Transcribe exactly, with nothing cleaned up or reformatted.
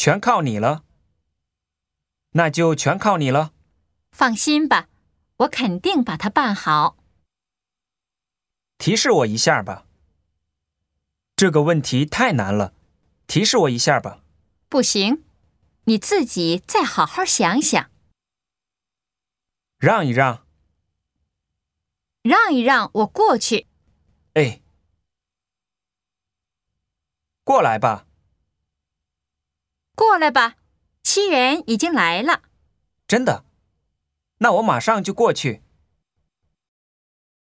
全靠你了。那就全靠你了。 放心吧，我肯定把它办好。 提示我一下吧。这个问题太难了，提示我一下吧。 不行，你自己再好好想想。 让一让。 让一让，我过去。 哎，过来吧。 过来吧，七人已经来了。 真的？那我马上就过去。